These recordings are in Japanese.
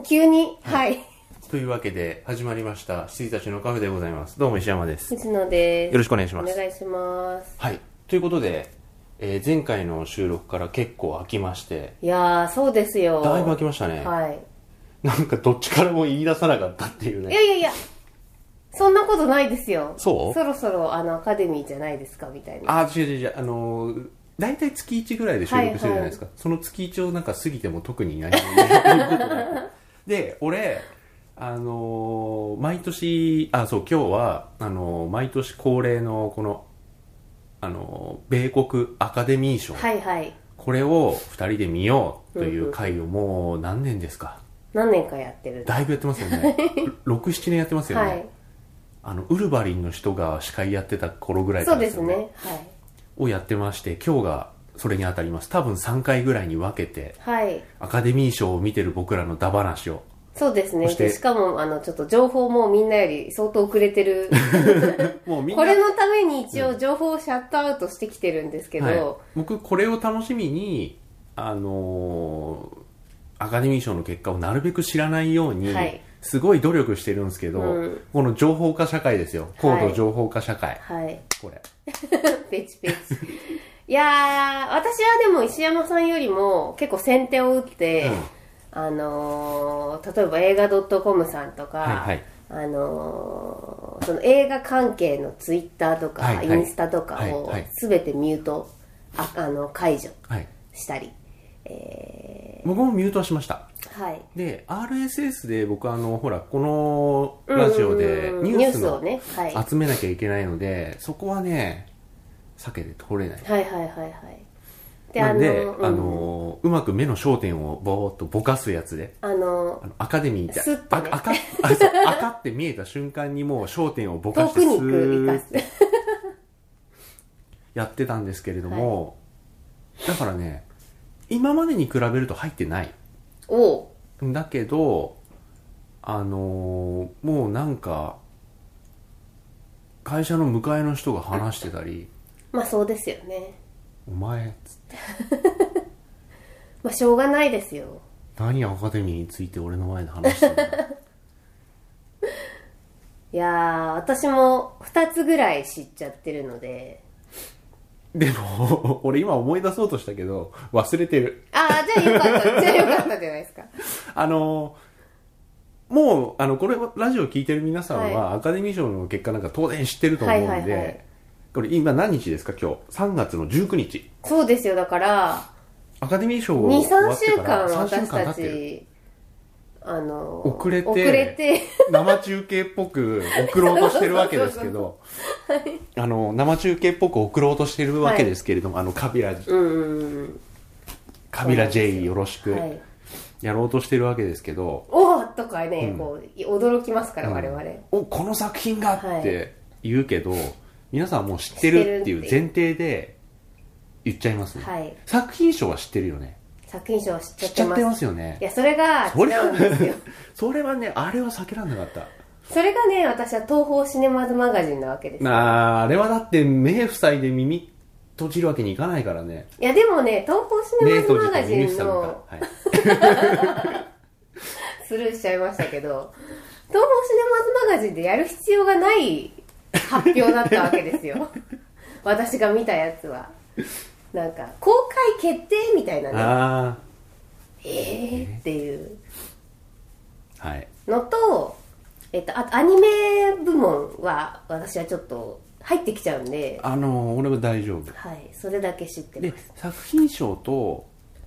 急に、はい。 というわけで始まりました羊たちのカフェでございます。どうも石山です。 藤野です。 よろしくお願いします。 お願いします。 はい。ということで、前回の収録から結構空きまして。 いやー、そうですよ。 だいぶ空きましたね。 はい。 なんかどっちからも言い出さなかったっていうね。 いや、そんなことないですよ。 そう？ そろそろアカデミーじゃないですかみたいな。 違う。大体月1ぐらいで収録してるじゃないですか。はいはい、その月1をなんか過ぎても特に何も言うことない。で、俺、毎年、今日は、毎年恒例の、この、米国アカデミー賞。 はいはい。 これを2人で見ようという回をもう何年ですか？ 何年かやってる。 だいぶやってますよね。6、7年やってますよね。 はい。 ウルヴァリンの人が司会やってた頃ぐらいからですよね。 そうですね。はい。 をやってまして、今日がそれに当たります。多分3回ぐらいに分けて、 はい。 アカデミー賞を見てる僕らのダ話を。 そうですね。でしかも、ちょっと情報もみんなより相当遅れてる。もうみんなこれのために一応情報をシャットアウトしてきてるんですけど。はい、 僕、これを楽しみに、アカデミー賞の結果をなるべく知らないように、はい、すごい努力してるんですけど、この情報化社会ですよ。高度情報化社会。 はい。 これ。 ペチペチ。いやー、私はでも石山さんよりも結構先手を打って、例えば映画 .com さんとか、はいはい、その映画関係のツイッターとか、はいはい、インスタとかを全てミュート、解除したり、 僕もミュートはしました。 はい。 で、RSS で僕ほら、このラジオでニュースをね、集めなきゃいけないので、そこはね、避けて通れない。 はいはいはいはい。 なんで、うまく目の焦点をぼーっとぼかすやつで、アカデミーって、 ね、 赤って見えた瞬間にもう焦点をぼかしてスーッてやってたんですけれども、はい、だからね、今までに比べると入ってない。だけど、もうなんか、会社の迎えの人が話してたり、 まあそうですよね。 お前っつってまあしょうがないですよ。 何アカデミーについて俺の前で話してるのいやー、私も2つぐらい知っちゃってるので。 でも俺今思い出そうとしたけど忘れてる。 じゃあよかったじゃないですか。 もうこれラジオ聞いてる皆さんは、はい、アカデミー賞の結果なんか当然知ってると思うんで、はいはいはい、これ今何日ですか？今日3月の19日。 そうですよ。だからアカデミー賞を終わってから 2、3週間私たち遅れて生中継っぽく送ろうとしてるわけですけど生中継っぽく送ろうとしてるわけですけれども、はい、カビラ J よろしく、はい、やろうとしてるわけですけど、 おーとかね、こう驚きますから、我々。 この作品がって言うけど、皆さんもう知ってるっていう前提で言っちゃいますね。はい、作品賞は知ってるよね。 作品賞は知っちゃってます。 知っちゃってますよね。 いや、それが違うんですよ。 それはね、あれは避けられなかった。 それがね、私は東宝シネマズマガジンなわけですよ。 あれはだって目塞いで耳閉じるわけにいかないからね。 いや、でもね、東宝シネマズマガジンの、はい、スルーしちゃいましたけど、東宝シネマズマガジンでやる必要がない発表だったわけですよ。私が見たやつは。なんか公開決定みたいなね。っていうのと、あとアニメ部門は私はちょっと入ってきちゃうんで、 俺は大丈夫。 はい、それだけ知ってます。 で、作品賞と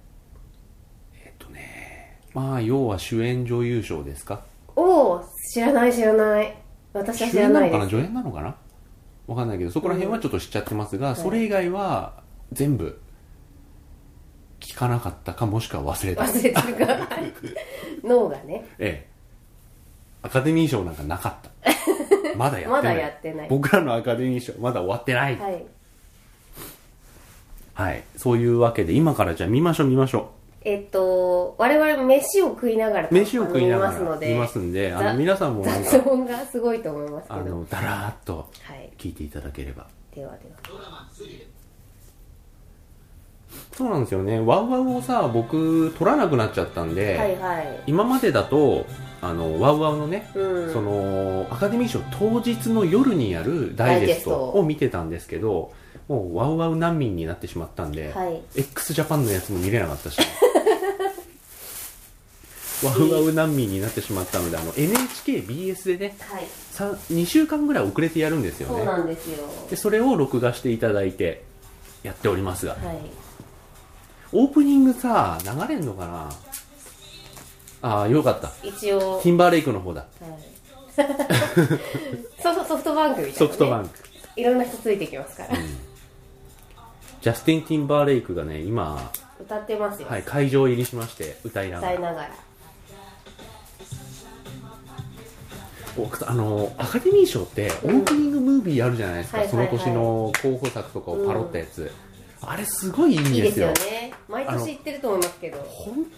まあ要は主演女優賞ですか？ 知らない。私は知らないです。 主演なのかな、助演なのかな、わかんないけど、そこら辺はちょっと知っちゃってますが、それ以外は全部聞かなかったか、もしくは忘れたか脳がね、 アカデミー賞なんかなかったまだやってない僕らのアカデミー賞まだ終わってない。はい、そういうわけで今からじゃあ見ましょう。 我々飯を食いながら見ますんで、皆さんもなんか雑音がすごいと思いますけど、 だらーっと聞いていただければ。 ではドラマそうなんですよね。ワウワウをさ、僕撮らなくなっちゃったんで、 はいはい。 今までだとワウワウのね、 うん。 そのアカデミー賞当日の夜にやるダイジェストを見てたんですけど、もうワウワウ難民になってしまったんで、 はい。 x ジャパンのやつも見れなかったしワウワウ難民になってしまったので、NHKBS でね、 はい。 2週間ぐらい遅れてやるんですよそうね。 なんですよ。 でそれを録画していただいてやっておりますが、 はい。 オープニングさ流れんのかな。ああ、よかった。 一応。 ティンバーレイクの方だ。 はいソフトバンクみたいな、ね、 ソフトバンクいろんな人ついてきますから、 ジャスティン・ティンバーレイクがね今歌ってますよ、 はい、会場入りしまして歌いながらアカデミー賞ってオープニングムービーあるじゃないですか、その年の候補作とかをパロったやつ、あれすごいいいんですよ。 いいですよね。毎年言ってると思いますけど、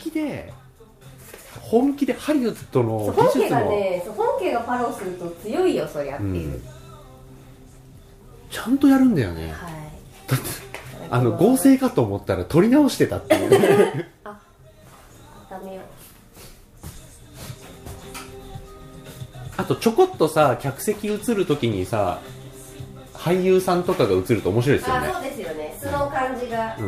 本気でハリウッドの技術も本家がパロすると強いよそりゃっていう、 ちゃんとやるんだよね、 はい、 だって合成かと思ったら撮り直してたっていうねあ、ダメよ。 あとちょこっとさ客席映るときにさ俳優さんとかが映ると面白いですよね。 あ、そうですよね、素の感じが、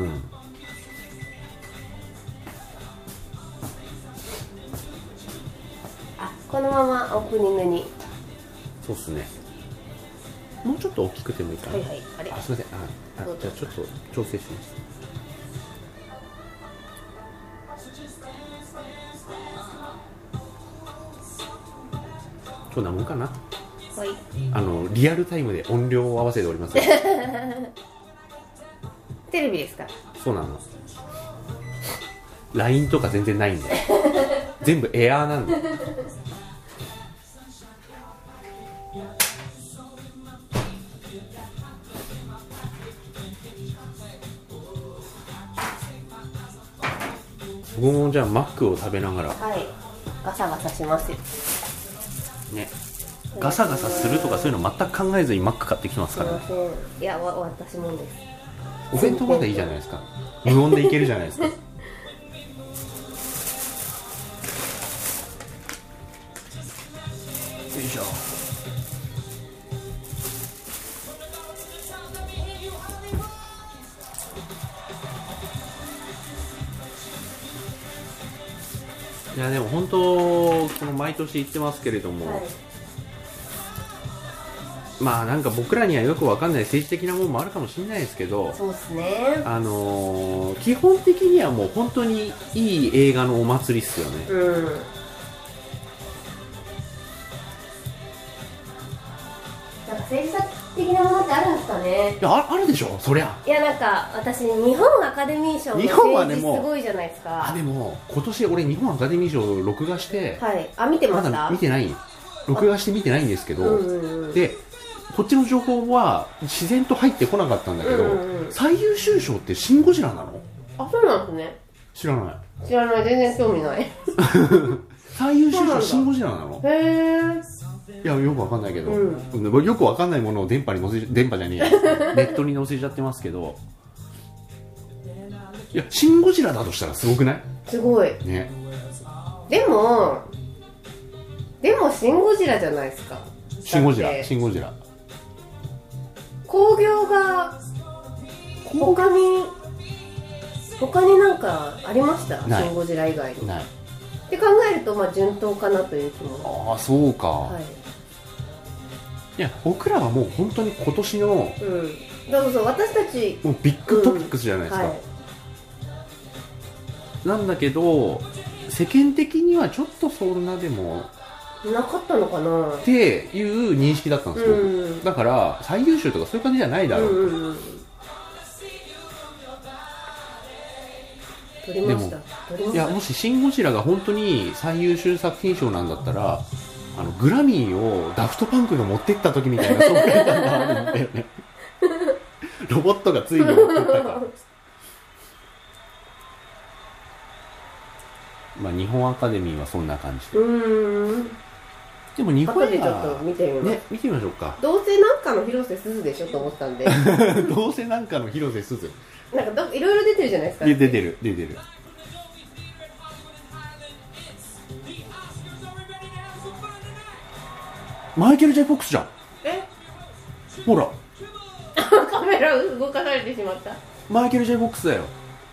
このままオープニングに。 そうっすね。もうちょっと大きくてもいいかな。 はいはい。あれ、 すみません。じゃあちょっと調整します。こんなもんかな。はい。リアルタイムで音量を合わせております。 テレビですか。 そうなの。LINE とか全然ないんで。全部エアーなんで。僕もじゃあマックを食べながら、 はい、ガサガサしますよね。ガサガサするとかそういうの全く考えずにマック買ってきてますからね。 すいません。いや、私もです。 お弁当までいいじゃないですか。無音でいけるじゃないですか。よいしょ。いやでも本当この毎年言ってますけれども、はい、まあなんか僕らにはよくわかんない政治的なものもあるかもしれないですけど、 そうですね。 基本的にはもう本当にいい映画のお祭りっすよね。うん。なんか政治的なものってあるんですかね。 いや、あるでしょ、そりゃ。 いや、なんか私日本アカデミー賞の政治すごいじゃないですか。 でも今年俺日本アカデミー賞を録画して、 はい、見てました。 まだ見てない、録画して見てないんですけど、でこっちの情報は自然と入ってこなかったんだけど、最優秀賞ってシン・ゴジラなの？ あ、そうなんですね。 知らない、 全然興味ない。 最優秀賞シン・ゴジラなの？ へー。 いや、よくわかんないけど、よくわかんないものを電波じゃねえやネットに載せちゃってますけど、いや、シン・ゴジラだとしたらすごくない？ すごいね。でもシン・ゴジラじゃないですか。シン・ゴジラ興行が他になんかありました？シン・ゴジラ以外に。ないって考えると、まあ順当かなという気も。 ああ、そうか。 はい、 いや、僕らはもう本当に今年の、 だから私たちもうビッグトピックスじゃないですか、はい、なんだけど世間的にはちょっとそんなでもなかったのかなっていう認識だったんですよ、だから最優秀とかそういう感じじゃないだろうと、 取りました。 いや、もしシン・ゴジラが本当に最優秀作品賞なんだったら、グラミーをダフトパンクが持ってった時みたいな爽快感があるんだよね。ロボットがついに持ってったか。まあ日本アカデミーはそんな感じでも日本後でちょっと見てみます、 ね、見てみましょうか。 どうせなんかの広瀬すずでしょと思ったんでどうせなんかの広瀬すず。 なんかいろいろ出てるじゃないですか。 出てる。マイケル・ジェイ・フォックスじゃん。ほらカメラ動かされてしまった。 マイケル・ジェイ・フォックスだよ。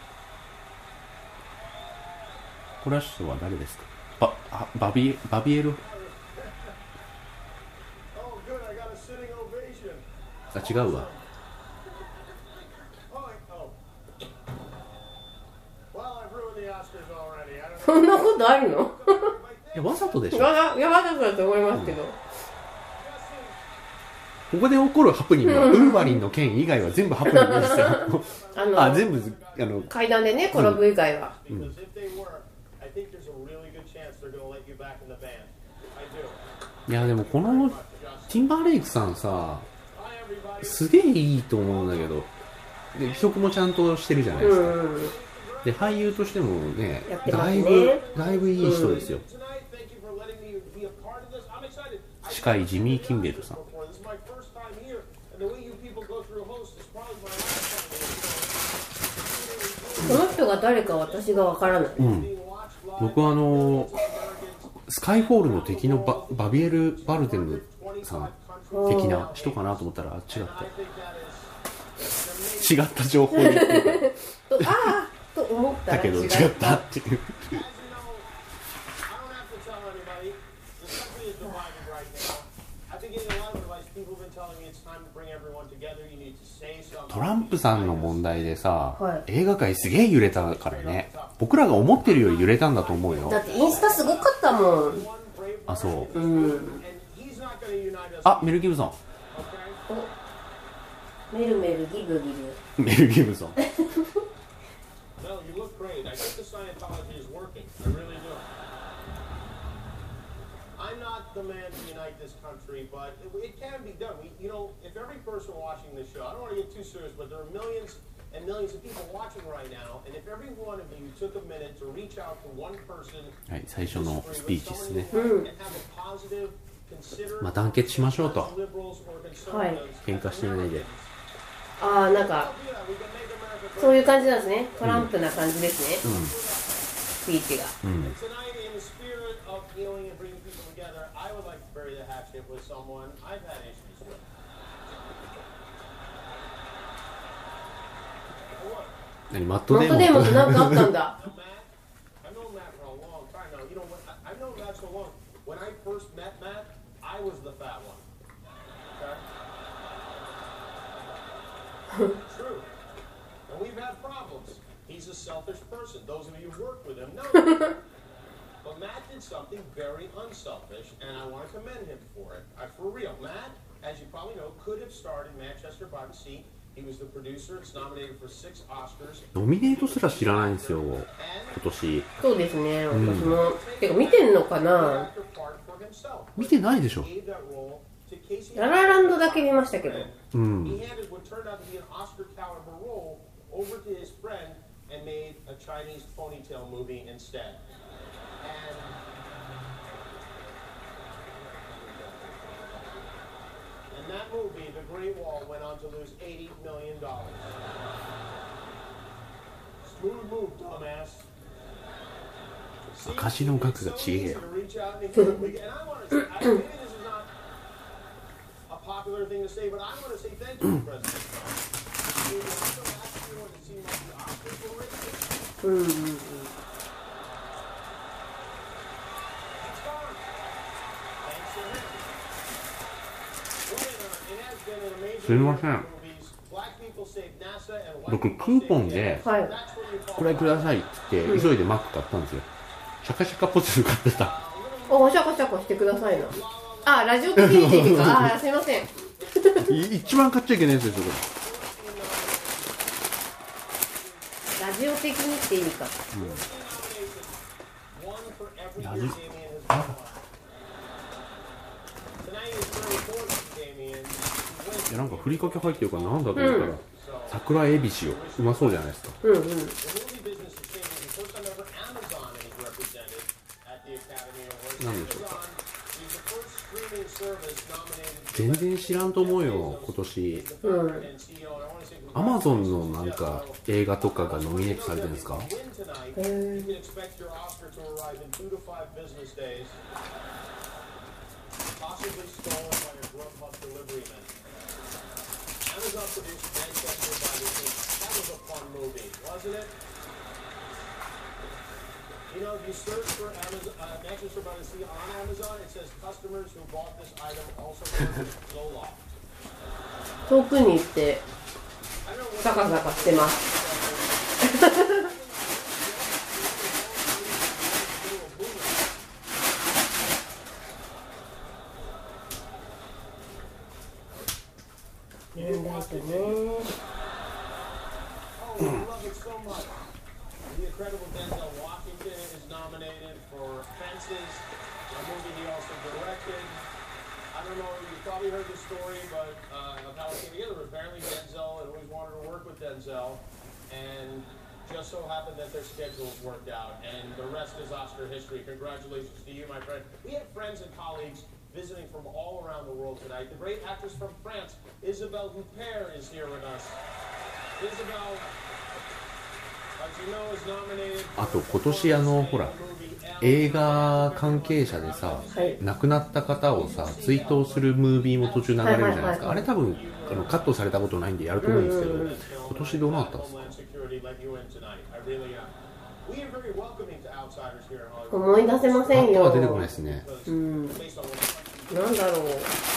この人は誰ですか。バビエル。あ、違うわ。 そんなことあるの？ いや、わざとでしょ。 わざとだと思いますけど、 ここで起こるハプニングはウルヴァリンの件以外は全部ハプニングですよ。全部階段でね転ぶ以外は、 いやでもこのティンバーレイクさんさ、すげえいいと思うんだけど、で曲もちゃんとしてるじゃないですか、で俳優としてもね、だいぶいい人ですよ、司会ジミー・キンベルさん。 この人が誰か私がわからない、 僕はスカイフォールの敵のバビエル・バルデムさん的な人かなと思ったら違った情報でと思ったらだけど違ったっていうトランプさんの問題でさ、映画界すげえ揺れたからね。僕らが思ってるより揺れたんだと思うよ。 だってインスタすごかったもん。 あ、そう、あ、メル・ギブソン。 メルギブメル・ギブソン I'm not the man to unite this country, but it can be done. If every person watching this show, I don't want to get too serious, but there are millions and millions of people watching right now, and if every one of you took a minute to reach out to one person, はい、最初のスピーチですね。まあ団結しましょうと。 はい。 喧嘩してないで。 なんかそういう感じなんですね。トランプな感じですね。スピーチが。 何、マットデーモンって何かあったんだ。 True. And we've had problems. He's a selfish person. Those of you who've worked with him know that. But Matt did something very unselfish, and I want to commend him for it. For real, Matt, as you probably know, could have starred in Manchester by the Sea. He was the producer. It's nominated for 6 Oscars. ノミネートすら知らないんですよ、今年。 そうですね、私も。てか見てんのかな。 見てないでしょ。 ララランドだけ見ましたけど。 赤字の額がちげえよ。 popular thing to say, but I want to say thank you to President Trump. すみません。僕クーポンでこれくださいって言って急いでマック買ったんですよ。シャカシャカポテト買ってた。 お、シャカシャカしてくださいな。ラジオ的にっていうか、すいません。 一番買っちゃいけないやつですよ、これ。ラジオ的にって意味か。 ラジいや、なんかふりかけ入ってるからなんだと思ったら、桜エビ塩、うまそうじゃないですか。なんでしょうか。 streaming service nominated 全然知らんと思うよ今年。 founder and CEO, and I want to say アマゾンのなんか映画とかがノミネートされてるんですか？ win tonight. You can expect your Oscar to arrive in 2 to 5 business days, possibly stolen by a Grubhub delivery man. Amazon produced Manchester by the Sea. That was a fun movie, wasn't it? You know, if you search for Manchester by the Sea on Amazon, it says customers who bought this item also purchased Zoloft. 遠くに行って I don't know what ザカザカしてます。年代とね。 Oh, I love it so much. The incredible Denzel Washington is nominated for Fences, a movie he also directed. I don't know, you probably heard the story, but of how it came together. Apparently Denzel had always wanted to work with Denzel, and just so happened that their schedules worked out, and the rest is Oscar history. Congratulations to you, my friend. We have friends and colleagues visiting from all around the world tonight. The great actress from France, Isabelle Huppert, is here with us. Isabelle, as you know, is nominated あと今年ほら映画関係者でさ、 はい亡くなった方をさ追悼するムービーも途中流れるじゃないですか、 はいはいはいはいあれ多分カットされたことないんでやると思うんですけど、今年どうなったんですか？ Homeland Security let you in tonight. I really am. We are very welcoming to outsiders here in Hollywood. 思い出せませんよ。 あとは出てこないですね。 うん。 Based on what なんだろう。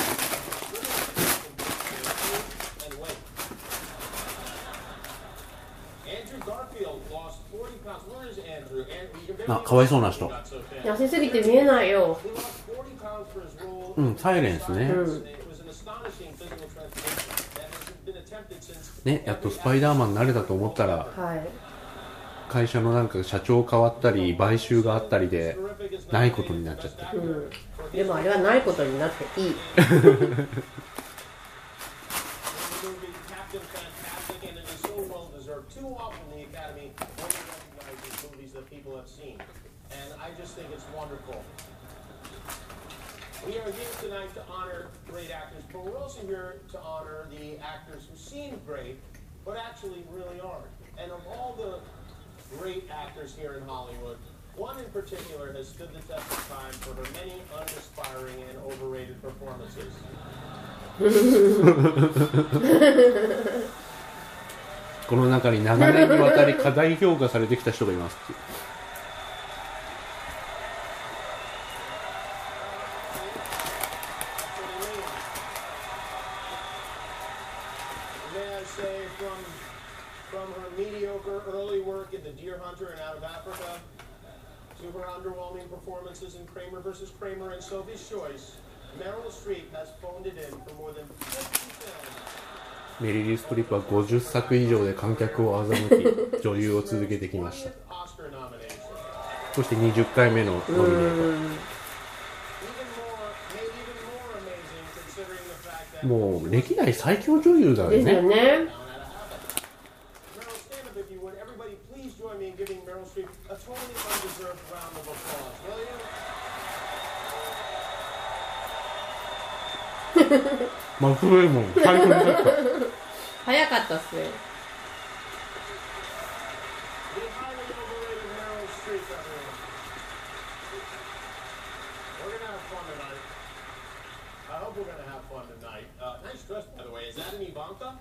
and weight. Andrew Garfield lost 40 pounds. Where is Andrew? You can あ、かわいそうな人。 got so thin. 痩せすぎて見えないよ。 He lost 40 pounds for his role. うん、サイレンスね。 It was an astonishing physical transformation that has been attempted since ね、やっとスパイダーマンになれたと思ったらはい。 会社のなんか社長変わったり買収があったりでないことになっちゃって、 うん。でもあれはないことになっていい。 the movie Captain Fantastic, and it is so well deserved. Too often the Academy only recognizes movies that people have seen, and I just think it's wonderful. We are here tonight to honor great actors, but we're also here to honor the actors who seem great, but actually really aren't. And of all the great actors here in Hollywood, one in particular has stood the test of time for her many uninspiring and overrated performances. この中に長年にわたり過大評価されてきた人がいますっていう。 May I say, from her mediocre early work in The Deer Hunter and Out of Africa to her underwhelming performances in Kramer vs. Kramer and Sophie's Choice, Meryl Streep has phoned it in for more than 50 films. メリリー・ストリップは50作以上で観客を欺き女優を続けてきました。 Oscar nomination. そして20回目のノミネー Even more amazing considering the fact that ト。もう歴代最強女優だよですよね。 ね。 Meryl, stand up if you would. Everybody, please join me in giving Meryl Streep a totally undeserved round of applause, will you? マクレーモン最高になった。 早かったっすね。 The highly overrated Meryl Streep, everyone. We're gonna have fun tonight. I hope we're gonna have fun tonight. Nice dress, by the way. Is that an Ivanka?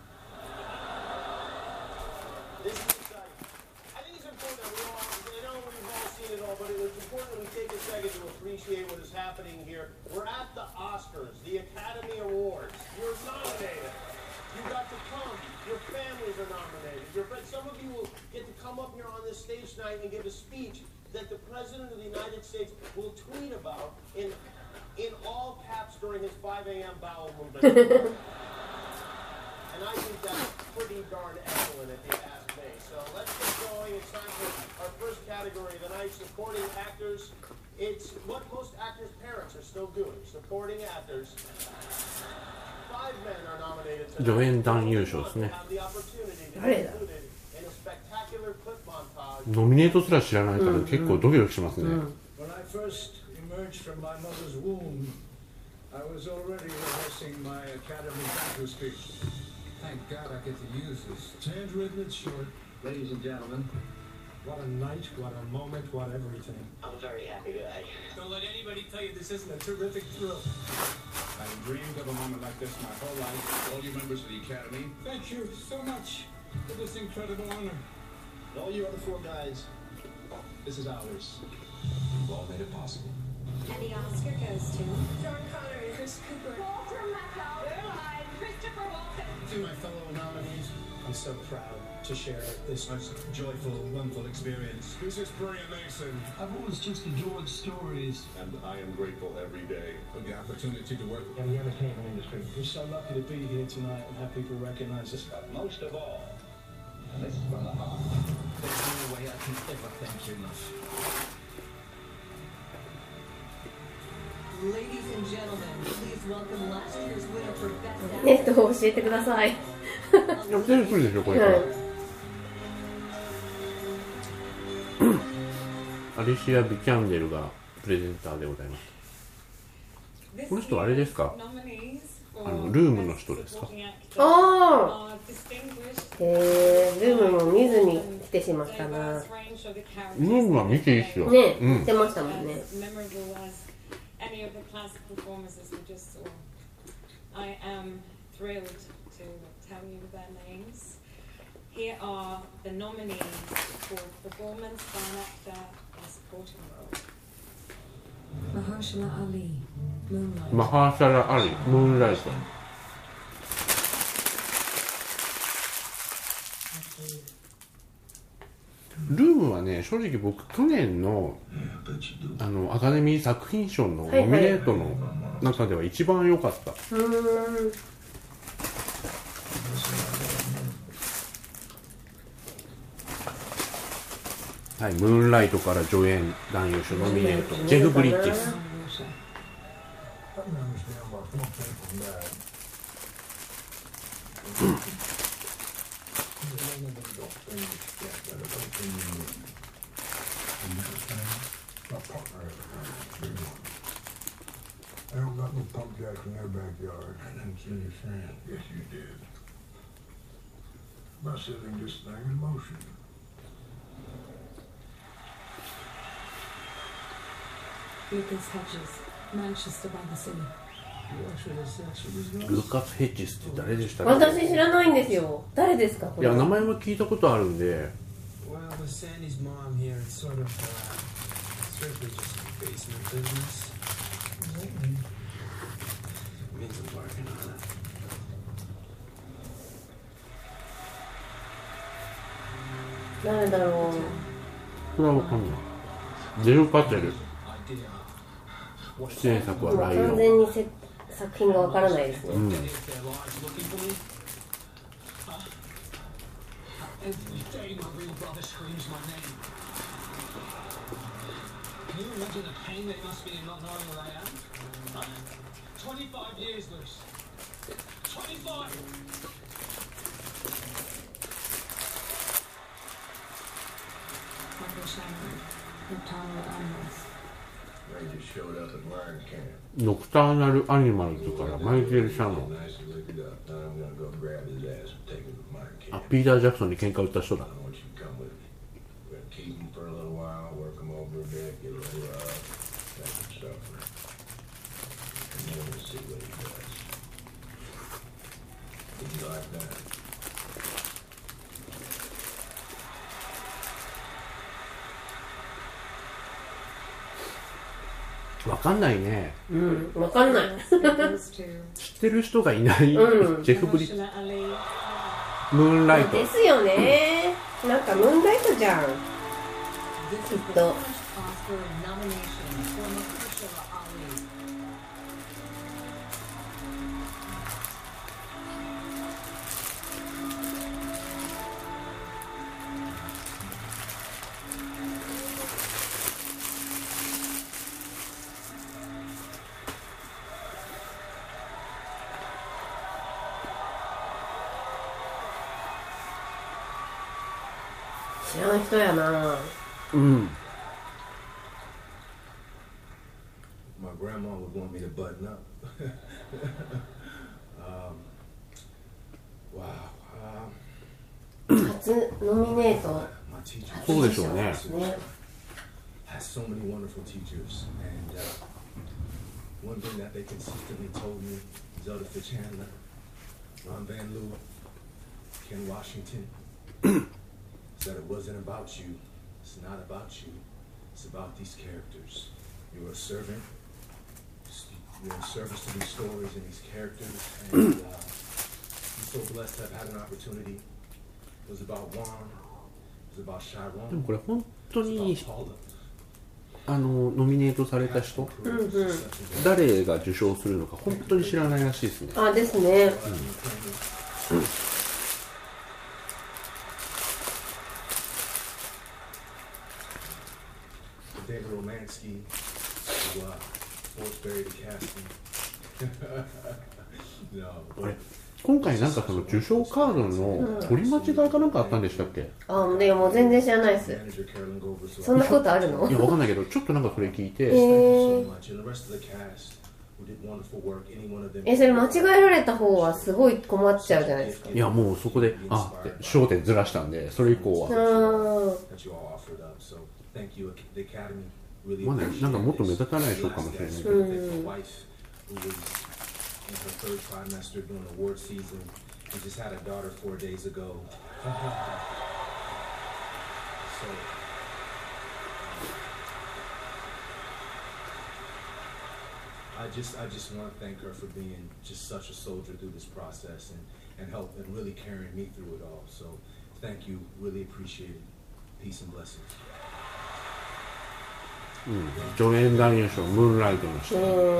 This is exciting. I think it's important that we all, I know we've all seen it all, but it's important that we take a second to appreciate what is happening here. We're at the Oscars, the Academy Awards. You're nominated. You got to come. Your families are nominated. Your friends. Some of you will get to come up here on this stage tonight and give a speech that the President of the United States will tweet about in all caps during his 5 a.m. bowel movement. And I think that's pretty darn excellent if you ask me. So let's get going. It's time for our first category of the night, supporting actors. It's what most actors' parents are still doing, supporting actors. 5 men are nominated tonight. 助演男優賞ですね。 Have the opportunity to be 誰だ included in a spectacular clip montage. ノミネートすら知らないから結構ドキドキしますね。 When I first emerged from my mother's womb, I was already rehearsing my Academy thank you speech. Thank God I get to use this. It's handwritten, it's short. Ladies and gentlemen, what a night, what a moment, what everything. I'm a very happy guy. Don't let anybody tell you this isn't a terrific thrill. I've dreamed of a moment like this my whole life. All you members of the Academy, thank you so much for this incredible honor. And all you other 4 guys, this is ours. You've all made it possible. And the Oscar goes to John Connery, Chris Cooper, Walter Matthau, Christopher Walken. To my fellow nominees, I'm so proud to share this joyful, wonderful experience. This is Brian Mason. I've always just enjoyed stories. And I am grateful every day for the opportunity to work In the entertainment industry, we're so lucky to be here tonight and have people recognize us. But most of all, and this is from the heart, There's no way I can ever thank you enough. Ladies and gentlemen, please welcome last year's winner for Best ネ Actor. ットを教えてください。 でも出てくるでしょこれから、 はいアリシア・ビキャンデルがプレゼンターでございます。この人あれですか？ルームの人ですか？ ああ、ルームも見ずに来てしまったな。 ルームは見ていいっすよ。 ね、 うん言ってましたもんね。 Any of the classic performances we just saw. I am thrilled to tell you their names. Here are the nominees for performance by an actor in a supporting role. Mahershala Ali, Moonlight. マハーシャラ・アリ、ムーンライト。ルームはね、正直僕去年のアカデミー作品賞のノミネートの中では一番良かった。はい、ムーンライトから助演男優賞ノミネート、ジェフ・ブリッジス。 I don't got no pump jacks in their backyard. I didn't see you saying. Yes, you did. By setting this thing in motion. Lucas Hedges, Manchester by the Sea. ルカス・ヘッジスって誰でしたっけ？ 私知らないんですよ。誰ですかこれ？ いや、名前も聞いたことあるんで。 Well, with Sandy's mom here, it's sort of strictly just basement business. Means I'm working on it. 誰だろう。 これはわかんない。ジェフ・パテル。出演作はライオン。 完全に作品がわからないですね。 うん。 Every day my real brother screams my name. Can you imagine the pain they must be in not knowing where I am? 25 years, Luce. 25! Michael Shannon, Nocturnal Animals. They just showed up at Lion Camp. ノクターナル・アニマルズからマイケル・シャノン。 Nice to look it up. Now I'm gonna go grab his ass and take him to Lion あ、 Camp. ピーター・ジャクソンに喧嘩売った人だ。 I want you to come with me. We're gonna keep him for a little while, work him over a bit, get a little make him suffer. And then we'll see what he does. Did you like that? わかんないね。 うん、わかんない。 Goes to 知ってる人がいない。 うんジェフ・ブリッジ、 Mahershala Ali. ムーンライト。 ですよね。なんかムーンライトじゃん。 This is the Ito. first Oscar nomination for Mahershala Ali. 知らん人やな。 うん。 my grandma would want me to button up. Wow. 初ノミネート My teacher そうでしょうね。 ね has so many wonderful teachers, and one thing that they consistently told me, Zelda Fitzchandler, Ron Van Leeuwen, Ken Washington, is that it wasn't about you. It's not about you. It's about these characters. You're a servant. You're in service to these stories and these characters, and I'm so blessed to have had an opportunity. It was about Juan. It was about でも Chiron. これ本当 It に was about Paula. ノミネートされた人、誰が受賞するのか本当に知らないらしいですね。 あですね。 David Romansky, who forced Barry to cast him. No. あれ今回なんかその受賞カードの取り間違いかなんかあったんでしたっけ？ あでも全然知らないです。 Manager Carolyn Goldberg. そんなことあるのいやわかんないけどちょっとなんかそれ聞いて、 So much, and the rest of the cast who did wonderful work. Any one of them. それ間違えられた方はすごい困っちゃうじゃないですか。 いやもうそこでって焦点ずらしたんで、それ以降は That you all offered up. So thank you, the Academy. Really まあね appreciate なんかもっと目 this. 立たない賞かもしれないけど、 Thank my wife, who was in her third trimester during award season. We just had a daughter 4 days ago. So I just want to thank her for being just such a soldier through this process and help and really carrying me through it all. So thank you, really appreciate it. Peace and blessings. 助演男優賞ムーンライトの人、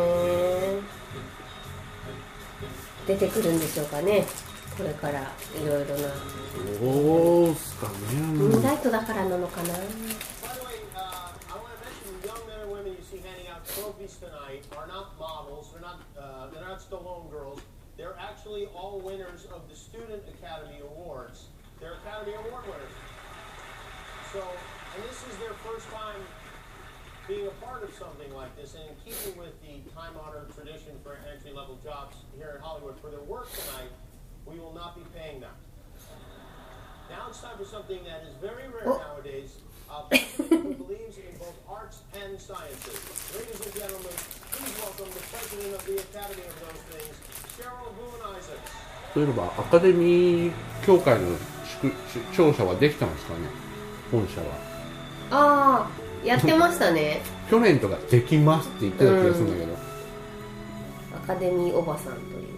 出てくるんでしょうかね。これからいろいろな。 どうすかね。 ムーンライトだからなのかな。 By the way, I want to mention the young men and women you see handing out trophies tonight are not models. They're not Stallone girls. They're actually all winners of the Student Academy Awards. They're Academy Award winners. So, and this is their first time being a part of something like this, and in keeping with the time-honored tradition for entry-level jobs here in Hollywood, for their work tonight, we will not be paying them. Now it's time for something that is very rare nowadays. A person who believes in both arts and sciences. Ladies and gentlemen, please welcome the president of the Academy of those things, Cheryl Boone Isaacs. そういえばアカデミー協会の庁舎はできたんですかね、本社は。 ああやってましたね。 去年とかできますって言ってた気がするんだけど、 アカデミーおばさんという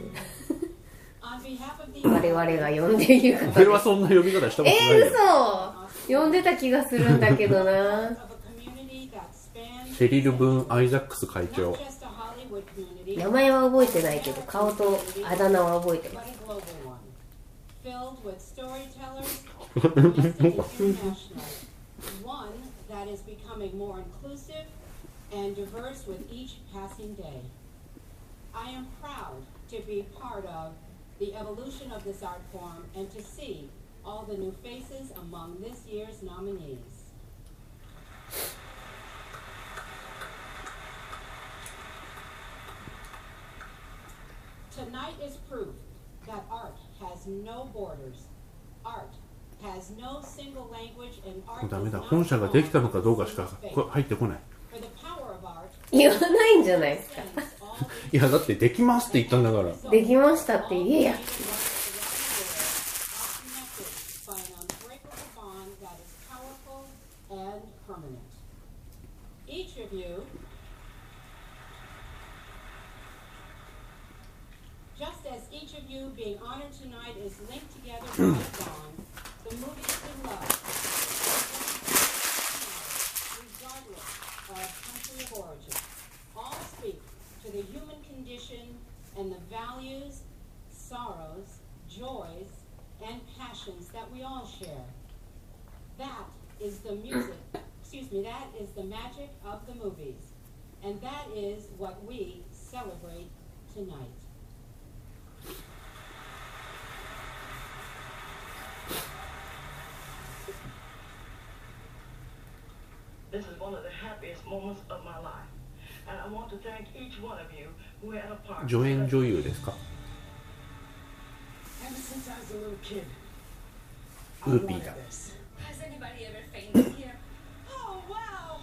我々が呼んでいる方です。 俺はそんな呼び方したことないよ。 嘘呼んでた気がするんだけどな。 シェリル・ブーン・アイザックス会長。 名前は覚えてないけど顔とあだ名は覚えてます。 Filled with storytellers, domestic and international. One that is becoming more inclusive and diverse with each passing day. I am proud to be part of the evolution of this art form and to see all the new faces among this year's nominees. Tonight is proof that art has no borders. Art has no single language and art ダメだ、本社ができたのかどうかしか入ってこない。 言わないんじゃないですか。 いやだってできますって言ったんだから。 できましたって言えや。 Each of you, just as each of you being honored tonight is linked together by a bond, the movies we love, regardless of country of origin, all speak to the human condition and the values, sorrows, joys, and passions that we all share. That is the music, that is the magic of the movies. And that is what we celebrate tonight. This is one of the happiest moments of my life. and I want to thank each one of you who had a part. 助演女優ですか？ Ever since I was a little kid, ウーピーだ。 this. Has anybody ever fainted here? Oh wow!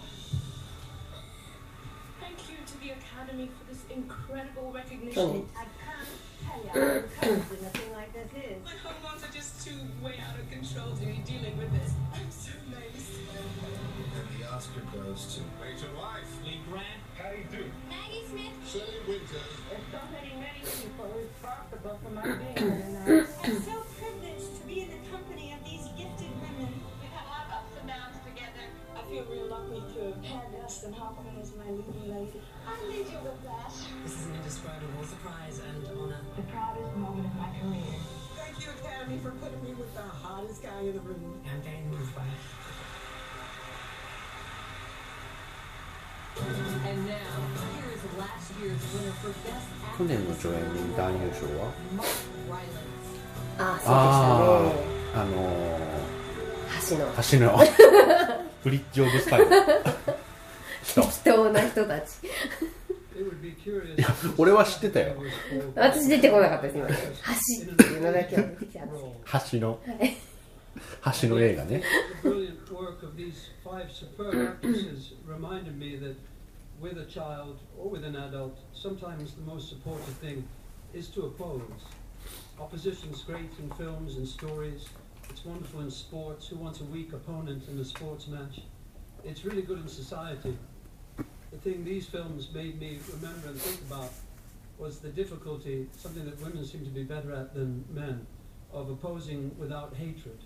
Thank you to the Academy for this incredible そうね recognition. I can't tell you how encouraging a thing like this is. My hormones are just too way out of control to be dealing with this. I'm so nice. And the Oscar goes to Major Life, Lee Grant, Patty Duke, Maggie Smith. Shirley Winters, There's so many people responsible for my being here tonight. I'm so privileged to be in the company of these gifted women. We've had a lot of ups and downs together. I feel real lucky to have had Dustin Hoffman as my leading lady. I lead you with that. This is an indescribable surprise and honor. The proudest moment of my career. Thank you, Academy, for putting me with the hottest guy in the room. I'm very moved by it. And now, here is last year's winner for Best 去 Actor. 年の助演男優賞は Mark Rylance. あああそうであしたね。橋の橋のブリッジ・オブ・スパイ適当な人たち。 It would be curious. いや俺は知ってたよ。 私出てこなかったです今ね。橋っていうのだけは出てきたんです橋の橋の映画ね。 The brilliant work of these 5 superb actresses reminded me that with a child or with an adult, sometimes the most supportive thing is to oppose. Opposition's great in films and stories. It's wonderful in sports. Who wants a weak opponent in a sports match? It's really good in society. The thing these films made me remember and think about was the difficulty, something that women seem to be better at than men, of opposing without hatred.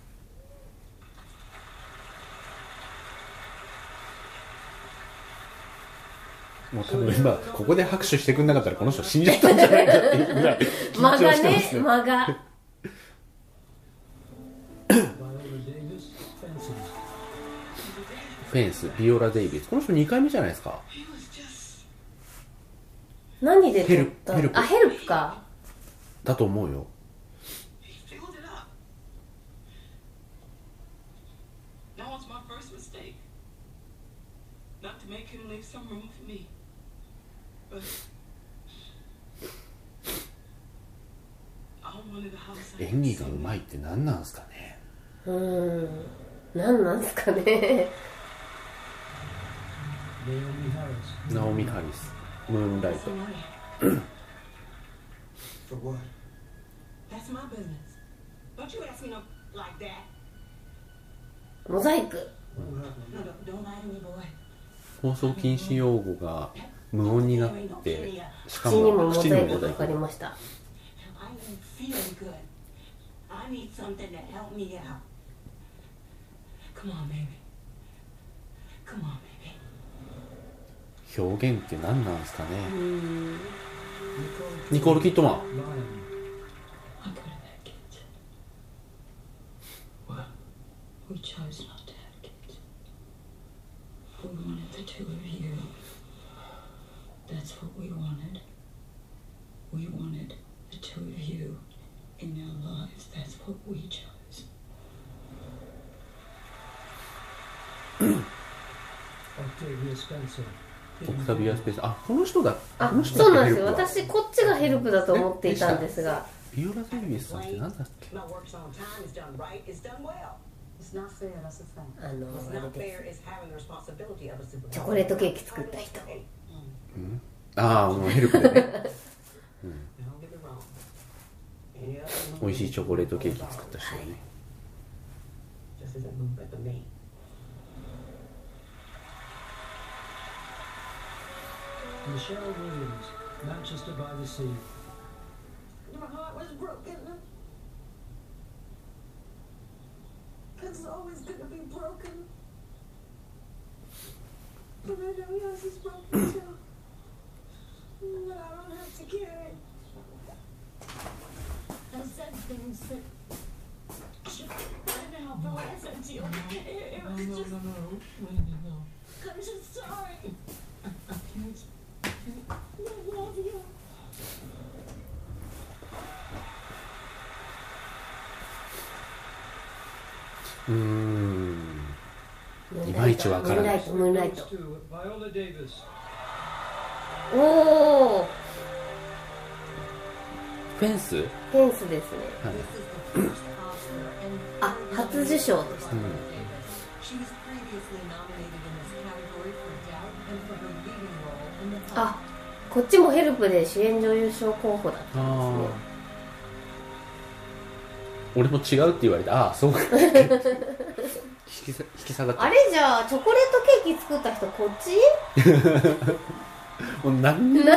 もう多分今ここで拍手してくんなかったらこの人死んじゃったんじゃないかっていうぐらい緊間が張してますね。 ね間が Viola Davis, Fences. フェンス、ビオラ・デイビス。この人2回目じゃないですか。 何で撮ったヘルプあヘルプか。 だと思うよ。 Filled it up. That was my first mistake. Not to make him leave some room for me. But I wanted a house. 演技がうまいって何なんですかね。 何なんですかね。 Naomi Harris. ナオミ・ハリス、ムーンライト。 For what? That's my business. Don't you ask me no like that. モザイク。 No, don't lie to me, boy. 放送禁止用語が無音になってしか口にももモザイ口にもモザイクかかりク。 ました。 I ain't feeling good. I need something to help me out. Come on, baby. Come on, baby. 表現って何なんですかね。ニコール・キットマン。 Lion. I could have had kids. What? We chose not to have kids. We wanted the two of you. That's what we wanted. We wanted the two of you in our lives. That's what we chose. Octavia Spencer. オクタビア・スペース。あ、この人だ。 あこの、人そうなんですよ。 だっけヘルプは私こっちがヘルプだと思っていたんですが。 ビオラ・デイビスさんって何だっけ。 My work's on time, it's done right, it's done well. It's not fair, that's a fact. あの What's あれ not で fair is having the responsibility of a す。 supervisor. チョコレートケーキ作った人。 ああ、もうヘルプでね。 Now, don't get me wrong. Any other 美味しいチョコレートケーキ作った人だね。 just isn't moving for me. Michelle Williams, Manchester by the Sea. My heart was broken. It's always gonna be broken. But I know yours is broken too. But I don't have to carry it. I said things that should I know, but when I said to you, it was just. No. I'm just sorry. I love you. いまいちわからない。 ムーンライト。 To Viola Davis. おお、 フェンス、 フェンスですね。 はい、 あ、初受賞でした。あ、こっちもヘルプで主演女優賞候補だったんですね。 俺も違うって言われて、ああそうか引き下がった。 あれ、じゃあチョコレートケーキ作った人こっちもう何にも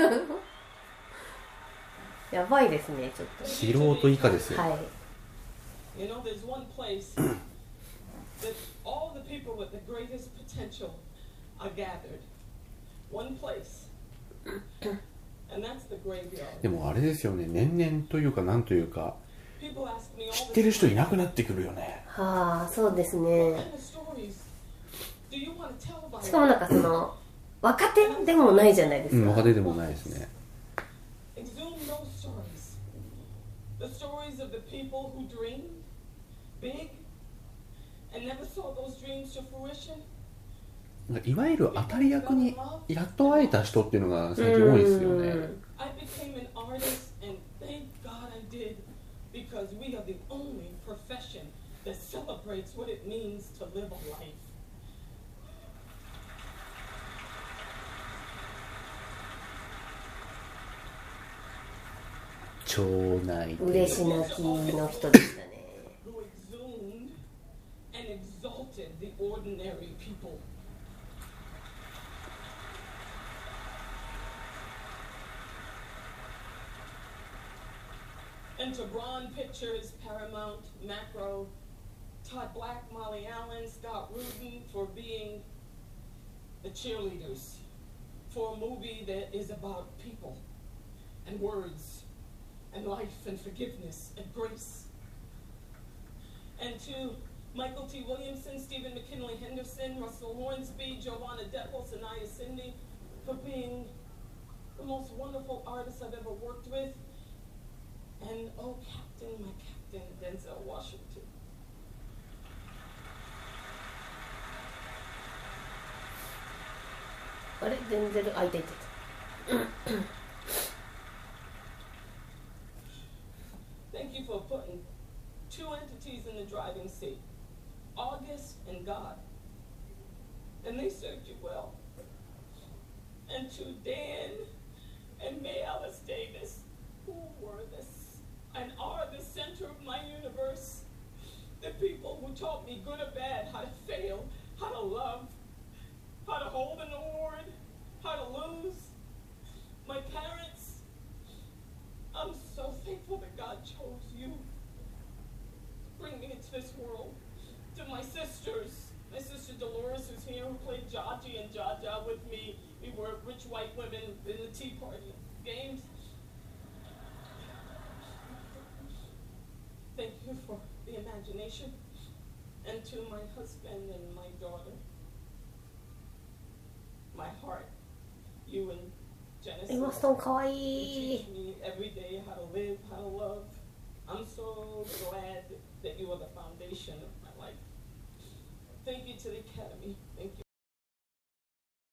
やばいですね、ちょっと素人以下ですよ。 はい。 You know, there's one place that all the people with the greatest potential are gathered. One place. And that's the graveyard. でもあれですよね、年々というかなんというか People ask me 知 all ってる the 人い time, なくなってくるよね。 はあ、そうですね。 what kind of stories do you want to tell about しかもなんかその若手でもないじゃないですか。 若手でもないですね。 Exhume those stories. The stories of the people who dreamed big and never saw those dreams to fruition. いわゆる当たり役にやっと会えた人っていうのが最近多いですよね。 I became an artist and thank God I did because we are the only profession that celebrates what it means to live a life. 町内嬉し泣きの人でしたね。 Who exhumed and exalted the ordinary people. Enter Braun Pictures, Paramount, Macro, Todd Black, Molly Allen, Scott Rudin for being the cheerleaders for a movie that is about people and words and life and forgiveness and grace. And to Michael T. Williamson, Stephen McKinley Henderson, Russell Hornsby, Giovanna Deppel, Sanaya Cindy for being the most wonderful artists I've ever worked with. And oh, Captain, my Captain, Denzel Washington. あれ、デンゼル、あ、いたいたいた。 Thank you for putting two entities in the driving seat, August and God. And they served you well. And to Dan and May Alice Davis, who were this and are the center of my universe. The people who taught me good or bad, how to fail, how to love, how to hold an award, how to lose. My parents, I'm so thankful that God chose you to bring me into this world. To my sisters, my sister Dolores who's here, who played Jaji and Jaja with me. We were rich white women in the Tea Party games. Thank you for the imagination. And to my husband and my daughter, my heart, you and Genesis. エマストンかわい You い。 teach me every day how to live, how to love. I'm so glad that you are the foundation of my life. Thank you to the Academy. Thank you.